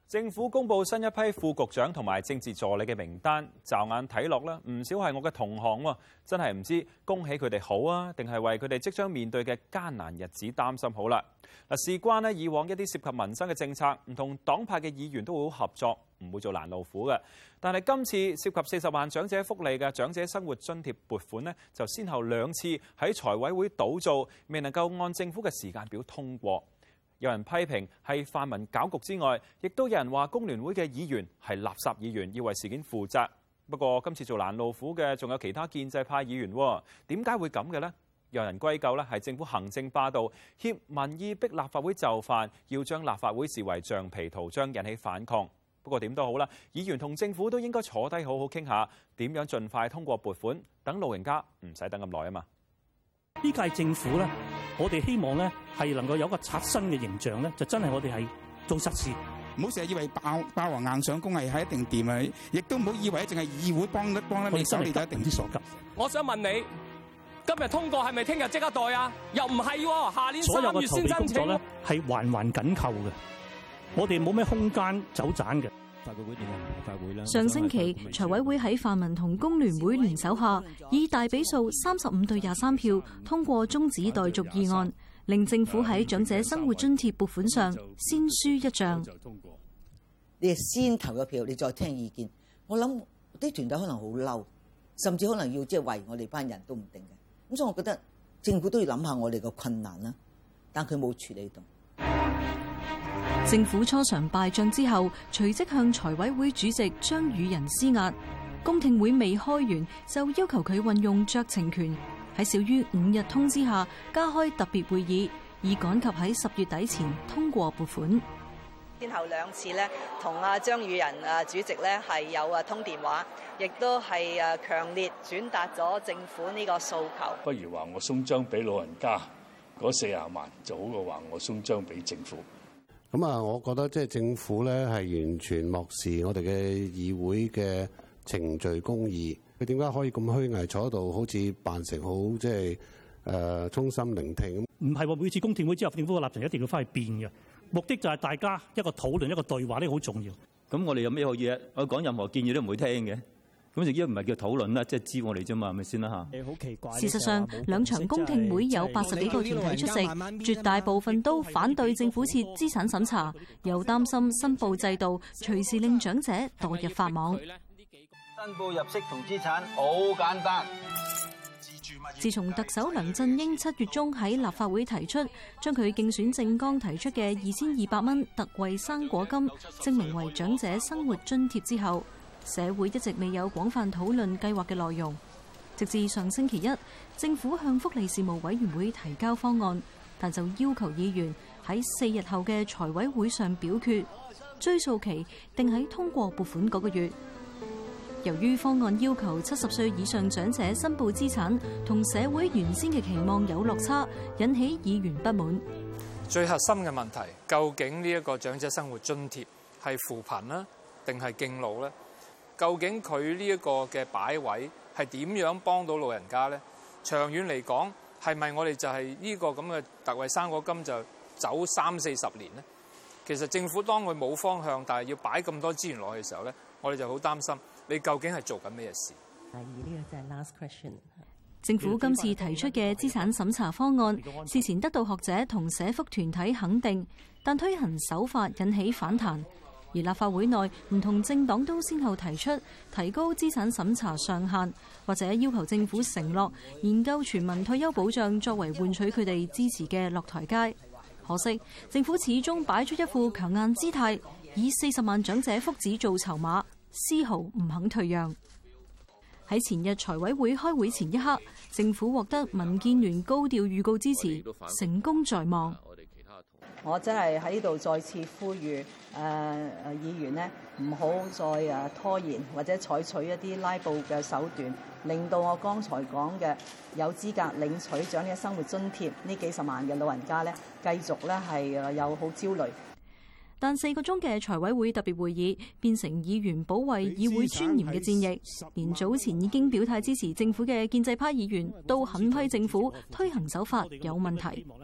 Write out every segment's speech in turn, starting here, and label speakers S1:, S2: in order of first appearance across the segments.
S1: 政府公布新一批副局長同埋政治助理嘅名單，驟眼睇落咧，唔少係我嘅同行喎，真係唔知恭喜佢哋好啊，定係為佢哋即將面對嘅艱難日子擔心好啦。嗱，事關咧以往一啲涉及民生嘅政策，唔同黨派嘅議員都會好合作，唔會做攔路虎嘅。但係今次涉及40萬長者福利嘅長者生活津貼撥款呢，就先後2次喺財委會倒做，未能夠按政府嘅時間表通過。有人批評係泛民搞局之外，亦都有人話工聯會嘅議員係垃圾議員，要為事件負責。不過今次做攔路虎嘅仲有其他建制派議員喎，點解會咁嘅呢？有人歸咎咧係政府行政霸道，挾民意逼立法會就範，要將立法會視為橡皮圖章，引起反抗。不過點都好啦，議員同政府都應該坐低好好傾下，點樣盡快通過撥款，等老人家唔使等咁耐啊嘛。
S2: 呢屆政府咧，我哋希望咧係能夠有一個刷新嘅形象咧，就真係我哋係做實事，
S3: 唔好成日以為霸王硬上弓係一定掂啊！亦都唔好以為淨係議會幫得你手，你就一定之所急。
S4: 我想問你，今日通過係咪聽日即刻袋啊？又唔係喎，下年3月先申請咧，
S2: 係環環緊扣嘅，我哋冇咩空間走盞嘅。
S5: 上星期財委會喺泛民同工聯會聯手下，以大比數35對23票通過中止待續議案，令政府喺長者生活津貼撥款上先輸一仗。
S6: 你係先投咗票，你再聽意見。我諗啲團隊可能好嬲，甚至可能要為我哋班人都唔定嘅。咁所以我覺得政府都要諗下我哋嘅困難啦，但佢冇處理到。
S5: 政府初嘗敗仗之後，隨即向財委會主席張宇人施壓。公聽會未開完，就要求佢運用酌情權，喺少於5日通知下加開特別會議，以趕及喺10月底前通過撥款。
S7: 先後2次咧，同張宇人主席咧係有通電話，亦都係強烈轉達咗政府呢個訴求。
S8: 不如話我鬆章俾老人家嗰40萬，就好過話我鬆章俾政府。
S9: 咁啊，我覺得即係政府咧係完全漠視我哋嘅議會嘅程序公義。佢點解可以咁虛偽坐喺度，好似扮成好即係衷心聆聽？
S2: 唔係話每次公聽會之後，政府嘅立場一定要翻去變嘅。目的就係大家一個討論、一個對話，呢個好重要。
S10: 咁我哋有咩好嘢？我講任何建議都唔會聽嘅。咁直接唔係叫討論啦，即係知我哋啫嘛，係咪先啦嚇？
S5: 好奇怪。事實上，2場公聽會有80幾個團體出席，絕大部分都反對政府設資產審查，又擔心申報制度隨時令長者墮入法網。
S11: 申報入息同資產好簡單。
S5: 自從特首梁振英7月中喺立法會提出將佢競選政綱提出嘅2200蚊特惠生果金證明為長者生活津貼之後，社會一直未有廣泛討論計劃嘅內容。直至上星期一，政府向福利事務委員會提交方案，但就要求議員喺4日後嘅財委會上表決，追溯期定喺通過撥款嗰個月。由於方案要求70歲以上長者申報資產，同社會原先嘅期望有落差，引起議員不滿。
S4: 最核心嘅問題，究竟呢一個長者生活津貼係扶貧啦，定係敬老咧？究竟佢呢一個嘅擺位係點樣幫到老人家咧？長遠嚟講，係咪我哋就係呢個咁嘅特惠生果金就走30-40年咧？其實政府當佢冇方向，但係要擺咁多資源落去嘅時候咧，我哋就好擔心。你究竟係做緊咩事？
S5: 呢個就係 last question。政府今次提出嘅資產審查方案，事前得到學者同社福團體肯定，但推行手法引起反彈。而立法會內唔同政黨都先後提出提高資產審查上限，或者要求政府承諾研究全民退休保障作為換取佢哋支持嘅落台階。可惜政府始終擺出一副強硬姿態，以40萬長者福祉做籌碼，絲毫唔肯退讓。喺前日財委會開會前一刻，政府獲得民建聯高調預告支持，成功在望。
S7: 我真係喺呢度再次呼籲議員呢，唔好再拖延或者採取一啲拉布嘅手段，令到我剛才講嘅有資格領取長者生活津貼呢幾十萬嘅老人家呢，繼續呢係有好焦慮。
S5: 但4個鐘嘅財委會特別會議變成議員保衛議會尊嚴嘅戰役，連早前已經表態支持政府嘅建制派議員都狠批政府推行手法有問題。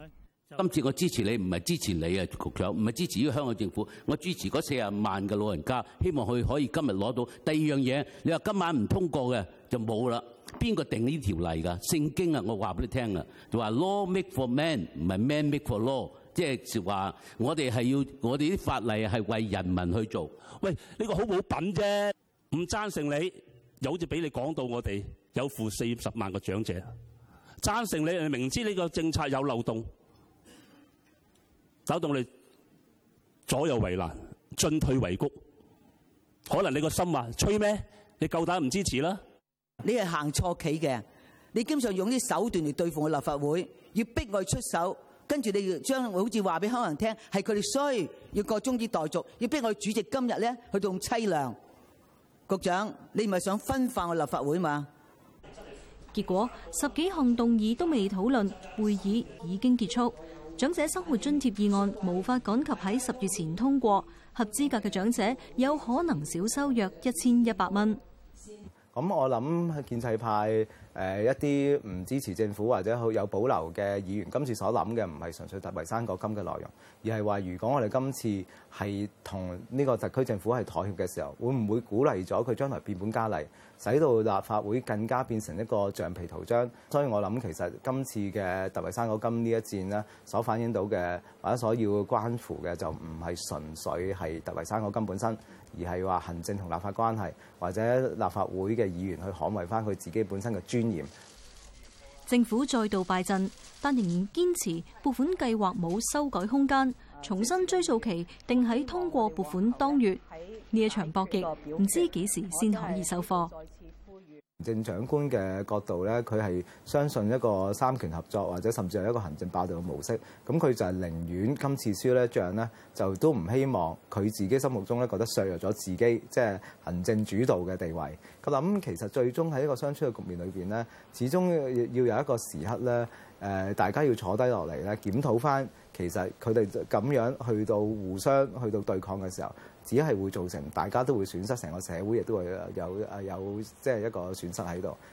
S12: 今次我支持你，唔係支持你啊，局長，唔係支持呢個香港政府，我支持嗰40萬嘅老人家，希望佢可以今日攞到。第二樣嘢，你話今晚唔通過嘅就冇啦。邊個定呢條例㗎？聖經啊，我話俾你聽啊，就話 law make for man， 唔係 man make for law， 即係話我哋啲法例係為人民去做。
S2: 喂，呢個好冇品啫！唔贊成你，又好似俾你講到我哋有負40萬個長者，贊成你明知呢個政策有漏洞，搞到我哋左右為難，進退維谷。可能你個心話吹咩？你夠膽唔支持啦？
S6: 你係行錯棋嘅，你基本上用啲手段嚟對付我立法會，要逼我出手，跟住你將好似話俾香港人聽，係佢哋衰，要個中止待續，要逼我主席今日咧去到咁凄涼。局長，你唔係想分化我立法會嘛？
S5: 結果10幾項動議都未討論，會議已經結束。長者生活津貼議案無法趕及喺10月前通過，合資格嘅長者有可能少收約1100蚊。
S13: 咁我諗建制派一啲唔支持政府或者好有保留嘅議員，今次所諗嘅唔係純粹特惠生果金嘅內容，而係話如果我哋今次係同呢個特區政府係妥協嘅時候，會唔會鼓勵咗佢將來變本加厲，使到立法會更加變成一個橡皮圖章？所以我諗其實今次嘅特惠生果金呢一戰呢，所反映到嘅或者所要關乎嘅就唔係純粹係特惠生果金本身，而係話行政同立法關係，或者立法會嘅議員去捍衛翻佢自己本身嘅尊嚴。
S5: 政府再度敗陣，但仍然堅持撥款計劃冇修改空間，重新追溯期定喺通過撥款當月。呢一場博弈唔知幾時先可以收貨。
S13: 行政長官嘅角度咧，佢係相信一個三權合作，或者甚至係一個行政霸道嘅模式。咁佢就係寧願今次輸呢仗呢，就都唔希望佢自己心目中咧覺得削弱咗自己即係行政主導嘅地位。佢諗其實最終喺一個相處嘅局面裏邊呢，始終要有一個時刻咧，大家要坐低落嚟咧，檢討翻其實佢哋咁樣去到互相去到對抗嘅時候，只係會造成大家都會損失，成個社會亦都會有即係一個損失喺度。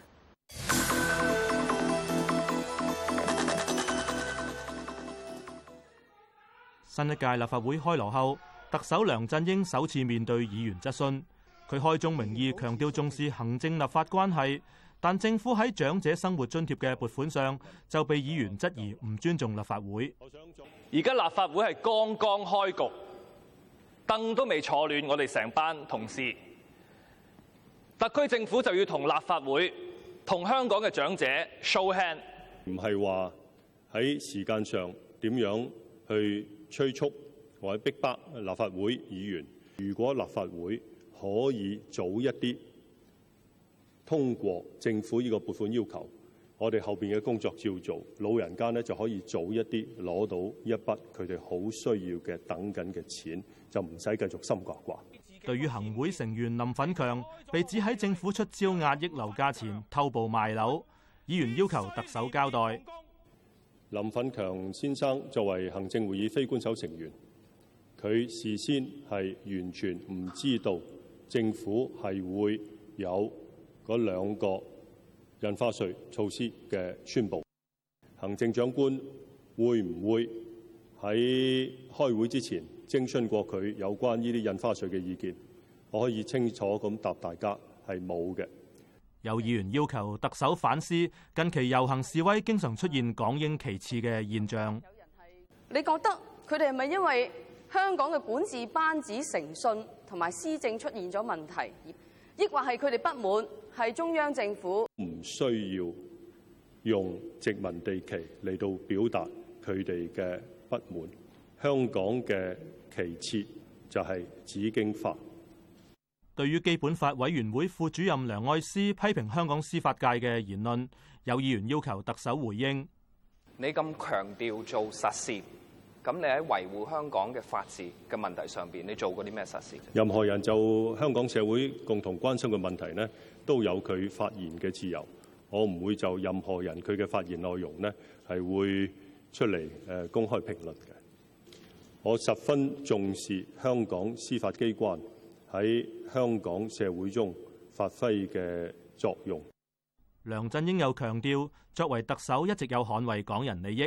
S14: 新一屆立法會開鑼後，特首梁振英首次面對議員質詢，佢開宗明義強調重視行政立法關係，但政府喺長者生活津貼嘅撥款上就被議員質疑唔尊重立法會。
S15: 而家立法會係剛剛開局，凳都未坐暖，我哋成班同事，特區政府就要同立法會、同香港嘅長者 show hand，
S16: 唔係話喺時間上點樣去催促或者逼迫立法會議員。如果立法會可以早一啲通過政府呢個撥款要求，我哋後邊嘅工作照做，老人家呢就可以早一啲攞到一筆佢哋好需要嘅等緊嘅錢，就唔使繼續心掛掛。
S14: 對於行會成員林奮強被指喺政府出招壓抑樓價前偷步賣樓，議員要求特首交代。
S16: 林奮強先生作為行政會議非官守成員，佢事先係完全唔知道政府係會有嗰2個印花稅措施嘅宣佈。行政長官會唔會喺開會之前徵詢過佢有關呢啲印花稅嘅意見？我可以清楚咁答大家係冇嘅。
S14: 有議員要求特首反思近期遊行示威經常出現港英旗幟嘅現象。
S17: 你覺得佢哋係咪因為香港嘅管治班子誠信同埋施政出現咗問題，抑或係佢哋不滿係中央政府？
S16: 唔需要用殖民地旗嚟到表達佢哋嘅不滿。香港嘅旗幟就係紫荊花。
S14: 對於基本法委員會副主任梁愛詩批評香港司法界嘅言論，有議員要求特首回應。
S18: 你咁強調做實事，咁你喺維護香港嘅法治嘅問題上邊，你做過啲咩實事？
S16: 任何人就香港社會共同關心嘅問題呢，都有佢發言嘅自由。我唔會就任何人佢嘅發言內容呢，係會出嚟公開評論嘅。我十分重視香港司法機關喺香港社會中發揮嘅作用。
S14: 梁振英又強調，作為特首一直有捍衛港人利益，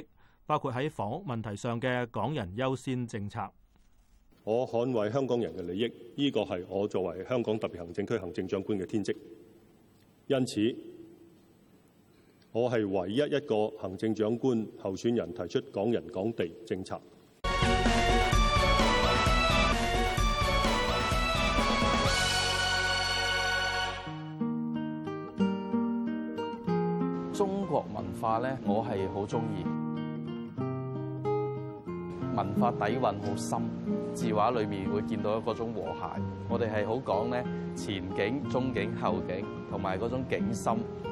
S14: 包括喺房屋問題上嘅港人優先政策。
S16: 我捍衛香港人嘅利益，呢個係我作為香港特別行政區行政長官嘅天職。因此，我係唯一一個行政長官候選人提出港人港地政策。
S19: 中國文化咧，我係好中意，文化底蘊好深，字畫裏面會見到嗰種和諧。我哋係好講咧前景、中景、後景，同埋嗰種景深。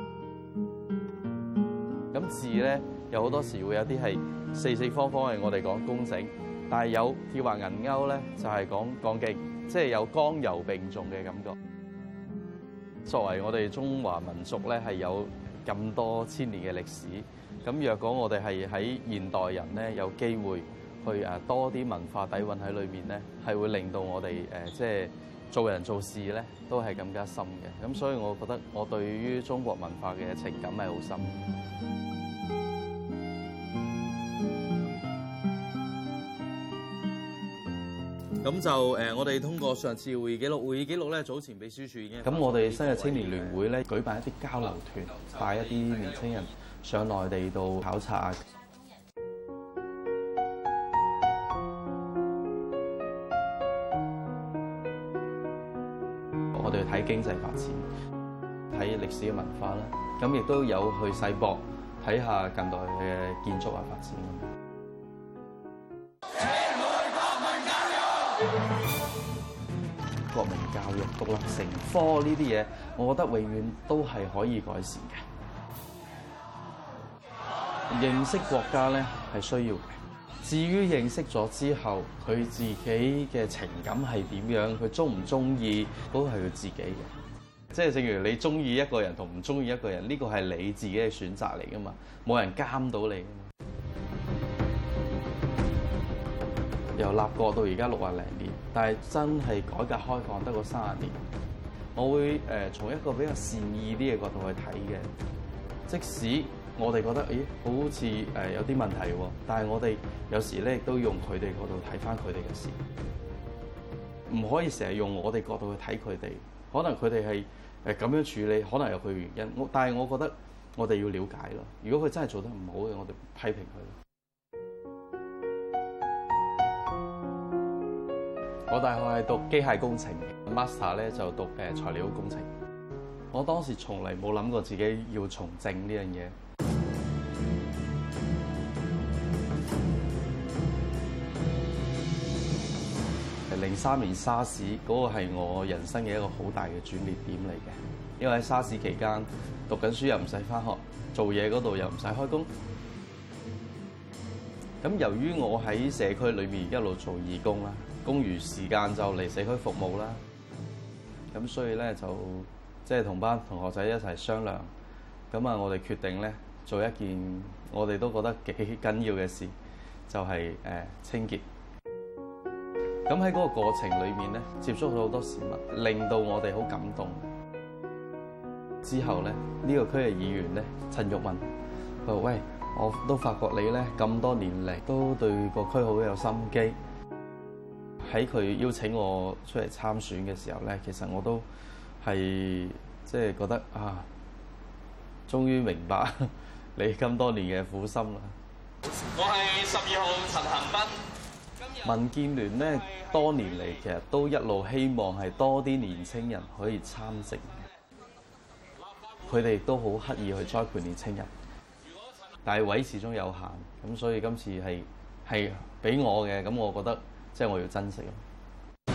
S19: 咁字咧有好多時會有啲係四四方方，係我哋講工整，但係有鐵畫銀鈎咧就係講剛勁，即係有剛柔並重嘅感覺。作為我哋中華民族咧係有咁多千年嘅歷史，咁若果我哋係喺現代人咧有機會去多啲文化底蘊喺裏面咧，係會令到我哋即係做人做事咧都係更加深嘅。咁所以我覺得我對於中國文化嘅情感係好深。咁就我哋通過上次會議記錄咧，早前秘書處已經。咁我哋新日青年聯會咧舉辦一啲交流團，帶一啲年青人上內地度考察。我哋去睇經濟發展，睇歷史嘅文化啦，咁亦都有去世博睇下近代嘅建築啊發展。國民教育、獨立成科呢啲嘢，我覺得永遠都係可以改善嘅。認識國家咧係需要嘅，至於認識咗之後，佢自己嘅情感係點樣，佢中唔中意，都係佢自己嘅。即係正如你中意一個人同唔中意一個人，呢個係你自己嘅選擇嚟噶嘛，冇人監到你。由立國到而家60零年，但係真係改革開放得個30年，我會從一個比較善意啲嘅角度去睇嘅。即使我哋覺得，好似有啲問題喎，但係我哋有時咧亦都用佢哋角度睇翻佢哋嘅事，唔可以成日用我哋角度去睇佢哋。可能佢哋係咁樣處理，可能有佢原因。但係我覺得我哋要了解咯。如果佢真係做得唔好嘅，我哋批評佢。我大學係讀機械工程 ，master 咧就讀材料工程。我當時從嚟冇諗過自己要從政呢樣嘢。03年沙士嗰個係我人生嘅一個好大嘅轉捩點嚟嘅，因為喺沙士期間讀緊書又唔使返學，做嘢嗰度又唔使開工。咁由於我喺社區裏面一路做義工啦。公餘時間就嚟社區服務啦，咁所以咧就即係同班同學仔一齊商量，咁啊我哋決定咧做一件我哋都覺得幾緊要嘅事，就係清潔。咁喺嗰個過程裏面咧，接觸咗好多市民，令到我哋好感動。之後咧，呢個區嘅議員咧陳玉文，佢話：喂，我都發覺你咧咁多年嚟都對個區好有心機。喺佢邀請我出嚟參選嘅時候咧，其實我都係即係覺得啊，終於明白你咁多年嘅苦心啦。
S15: 我係12號陳恒斌。
S19: 民建聯咧多年嚟其實都一路希望係多啲年青人可以參政，佢哋都好刻意去栽培年青人，但係位始終有限，咁所以今次係俾我嘅，咁我覺得。即係我要珍惜咯。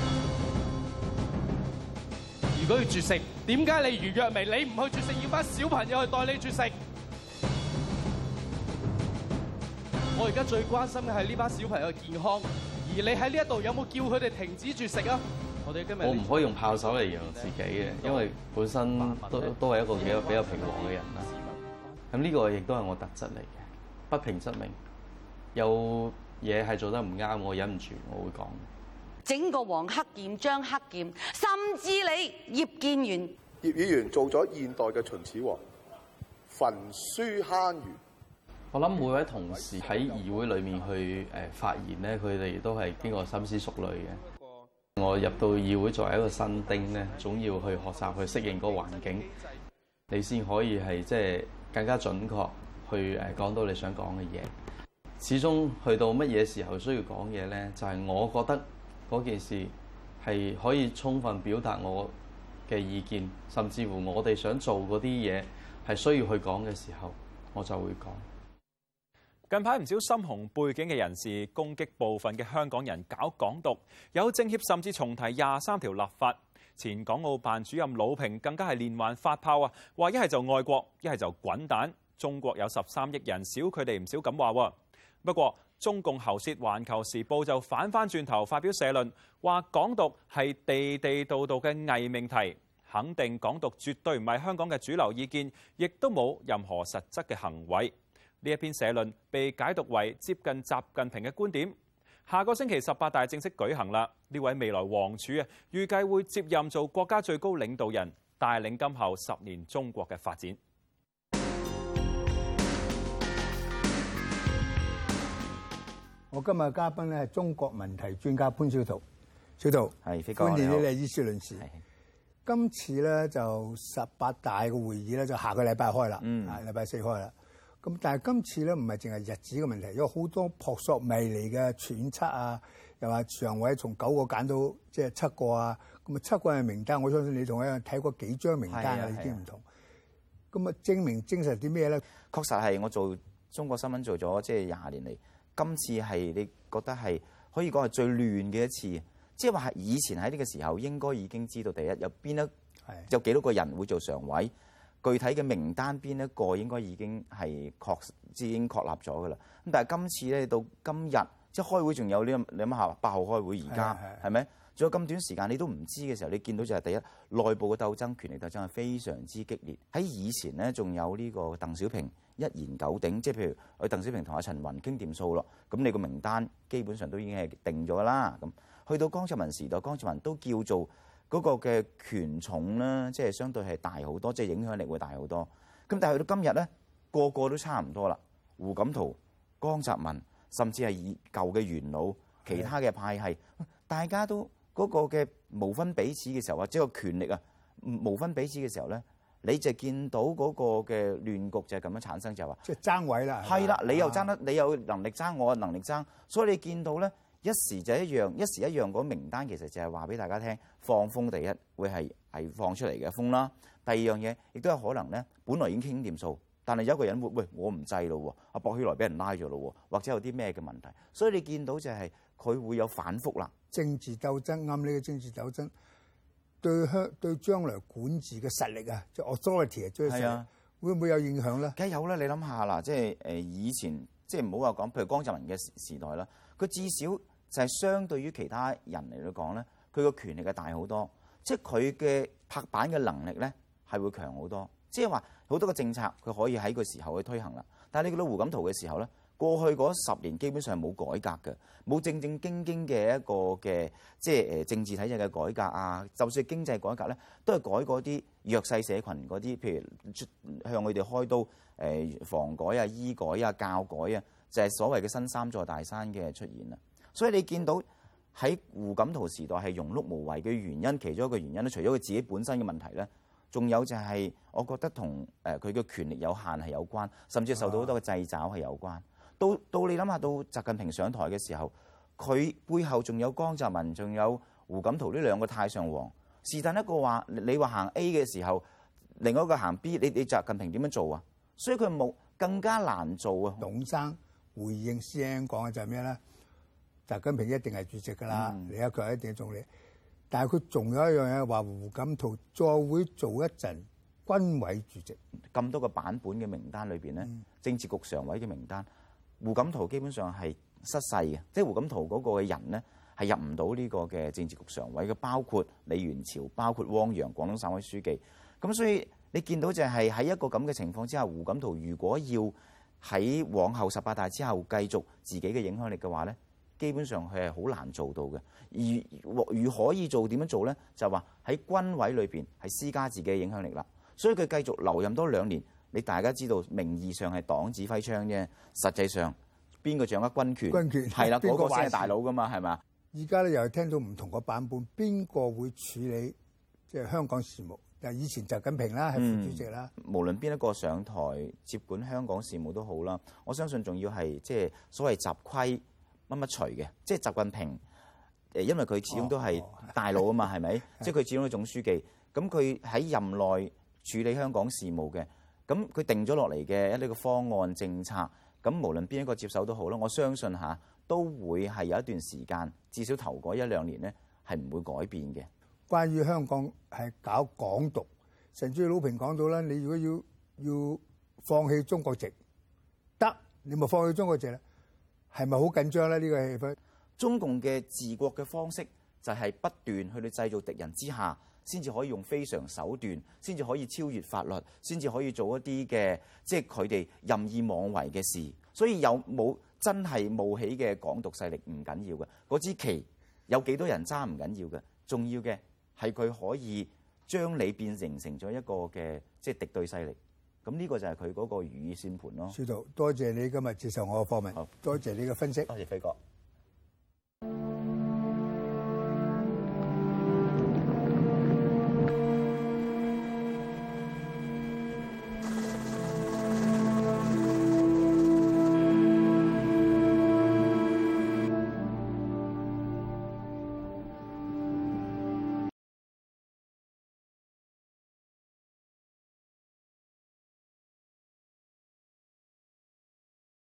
S20: 如果要絕食，點解你余若薇你唔去絕食，要班小朋友去代你絕食？我而家最關心嘅係呢班小朋友嘅健康，而你喺呢一度有冇叫佢哋停止絕食啊？我唔可以用炮手嚟形容自己嘅，因為本身都係一個比較平和嘅人啦。咁呢個亦都係我特質嚟嘅，不平則鳴。有嘢係做得唔啱，我忍唔住，我會講。
S21: 整個黃克儉、張克儉，甚至你葉建源，
S22: 葉議員做咗現代嘅秦始皇，焚書坑儒，
S19: 我諗每位同事喺議會裏面去發言咧，佢哋都係經過深思熟慮嘅。我入到議會作為一個新丁咧，總要去學習去適應嗰個環境，你先可以係即係更加準確去講到你想講嘅嘢。始終去到乜嘢時候需要講嘢咧，就係我覺得嗰件事係可以充分表達我嘅意見，甚至乎我哋想做嗰啲嘢係需要去講嘅時候，我就會講。
S1: 近排唔少深紅背景嘅人士攻擊部分嘅香港人搞港獨，有政協甚至重提23條立法。前港澳辦主任魯平更加係連環發炮啊，話一係就愛國，一係就滾蛋。中國有13億人，少佢哋唔少咁話喎。不過中共喉舌《環球時報》就反翻轉頭發表社論，話港獨係地地道道嘅偽命題，肯定港獨絕對唔係香港嘅主流意見，亦都冇任何實質嘅行為。呢一篇社論被解讀為接近習近平嘅觀點。下個星期18大正式舉行啦，呢位未來王儲啊，預計會接任做國家最高領導人，帶領今後10年中國嘅發展。
S22: 我今日嘅嘉賓咧係中國問題專家潘小濤，小濤
S23: 係飛哥，
S22: 歡迎你係醫師論事。今次咧就18大嘅會議咧就下個禮拜開啦，禮拜4開啦。咁但係今次咧唔係淨係日子嘅問題，有好多撲朔迷離嘅揣測啊，又話常委從9個揀到即係7個啊，咁啊7個人名單，我相信你同我一樣睇過幾張名單啊，已經唔同。咁啊證實啲咩咧？
S23: 確實係我做中國新聞做咗即係20年嚟，今次係你覺得係可以講係最亂嘅一次，即係話係以前喺呢個時候應該已經知道第一有幾多個人會做常委。具體嘅名單邊一個應該已經係已經確立咗㗎啦。咁但係今次咧到今日即係開會仲有呢，你諗下8號開會而家係咪？仲有咁短時間你都唔知嘅時候，你見到就係第一內部嘅鬥爭、權力鬥爭係非常之激烈。喺以前咧仲有呢個鄧小平一言九鼎，即係譬如佢鄧小平同阿陳雲傾掂數咯，咁你個名單基本上都已經係定咗啦。咁去到江澤民時代，江澤民都叫做嗰個嘅權重咧，即係相對係大好多，即係影響力會大好多。咁但係去到今日咧，個個都差唔多啦。胡錦濤、江澤民，甚至係以舊嘅元老、其他嘅派系，大家都嗰個嘅無分彼此嘅時候，或者個權力啊無分彼此嘅時候咧，你就見到嗰個嘅亂局就係咁樣產生，就係話
S22: 即係爭位啦。
S23: 係啦，你又爭得，你有能力爭，我有能力爭，所以你見到咧。一時就一樣，一時一樣。嗰名單其實就係話俾大家聽，放風第一會係放出嚟嘅風啦。第二樣嘢亦都有可能咧，本來已經傾掂數，但係有一個人會喂我唔制咯喎，阿薄熙來俾人拉咗咯喎，或者有啲咩嘅問題，所以你見到就係佢會有反覆啦。
S22: 政治鬥爭啱呢個政治鬥爭對將來管治嘅實力啊，即係 authority 啊，最實力會唔會有影響咧？
S23: 梗係有啦，你諗下啦，即係以前即係唔好話講，譬如江澤民嘅時代啦，佢至少就係相對於其他人嚟到講咧，佢個權力係大好多，即係佢嘅拍板嘅能力咧係會強好多。即係話好多個政策佢可以喺個時候去推行啦。但係你見到胡錦濤嘅時候咧，過去嗰10年基本上冇改革嘅，冇正正經經嘅一個嘅即係政治體制嘅改革啊。就算經濟改革咧，都係改嗰啲弱勢社群嗰啲，譬如向佢哋開刀房改啊、醫改啊、教改啊，就係所謂嘅新3座大山嘅出現啦。所以你見到喺胡錦濤時代係庸碌無為嘅原因，其中一個原因咧，除咗佢自己本身嘅問題咧，仲有就係我覺得同佢嘅權力有限係有關，甚至受到好多嘅掣肘係有關。到你諗下，到習近平上台嘅時候，佢背後仲有江澤民，仲有胡錦濤呢兩個太上皇。是但一個話你話行 A 嘅時候，另外一個行 B， 你習近平點樣做啊？所以佢冇更加難做啊。
S22: 董生回應師兄講嘅就係咩咧？習近平一定係主席㗎啦，李克強一定係總理。但係佢仲有一樣嘢話，胡錦濤再會做一陣軍委主席。
S23: 咁多個版本嘅名單裏邊咧，政治局常委嘅名單，胡錦濤基本上係失勢嘅，即係胡錦濤嗰個嘅人咧係入唔到呢個嘅政治局常委嘅，包括李源潮，包括汪洋，廣東省委書記。咁所以你見到就係喺一個咁嘅情況之下，胡錦濤如果要喺往後18大之後繼續自己嘅影響力嘅話咧，基本上佢係好難做到嘅。如可以做點樣做咧？就話喺軍委裏邊係施加自己嘅影響力啦。所以佢繼續留任多2年， 你大家知道名義上係黨指揮槍啫，實際上邊個掌握軍權？係啦，嗰個先係大佬噶嘛，係咪？
S22: 而家咧又聽到唔同個版本，邊個會處理即係香港事務？以前習近平啦，係副主席啦。
S23: 無論邊一個上台接管香港事務都好啦，我相信仲要係即係所謂習規乜乜除嘅，即係習近平因為佢始終都係大佬啊嘛，係咪？即係佢始終係總書記，咁佢喺任內處理香港事務嘅，咁佢定咗落嚟嘅一啲個方案政策，咁無論邊一個接手都好啦，我相信都會係有一段時間，至少頭嗰1-2年咧係唔會改變嘅。
S22: 關於香港係搞港獨，陳主席魯平講到啦，你如果要放棄中國籍，得你咪放棄中國籍啦，係咪好緊張咧？呢個氣氛，
S23: 中共嘅治國嘅方式就係不斷去製造敵人之下，先至可以用非常手段，先至可以超越法律，先至可以做一啲嘅即係佢哋任意妄為嘅事。所以有冇真係冒起嘅港獨勢力唔緊要嘅，嗰支旗有幾多人揸唔緊要嘅，重要嘅係佢可以將你變成咗一個嘅即係敵對勢力。咁呢個就係佢嗰個如意算盤咯。
S22: 司徒，多謝你今日接受我嘅訪問，多謝你嘅分析。
S23: 多謝飛哥。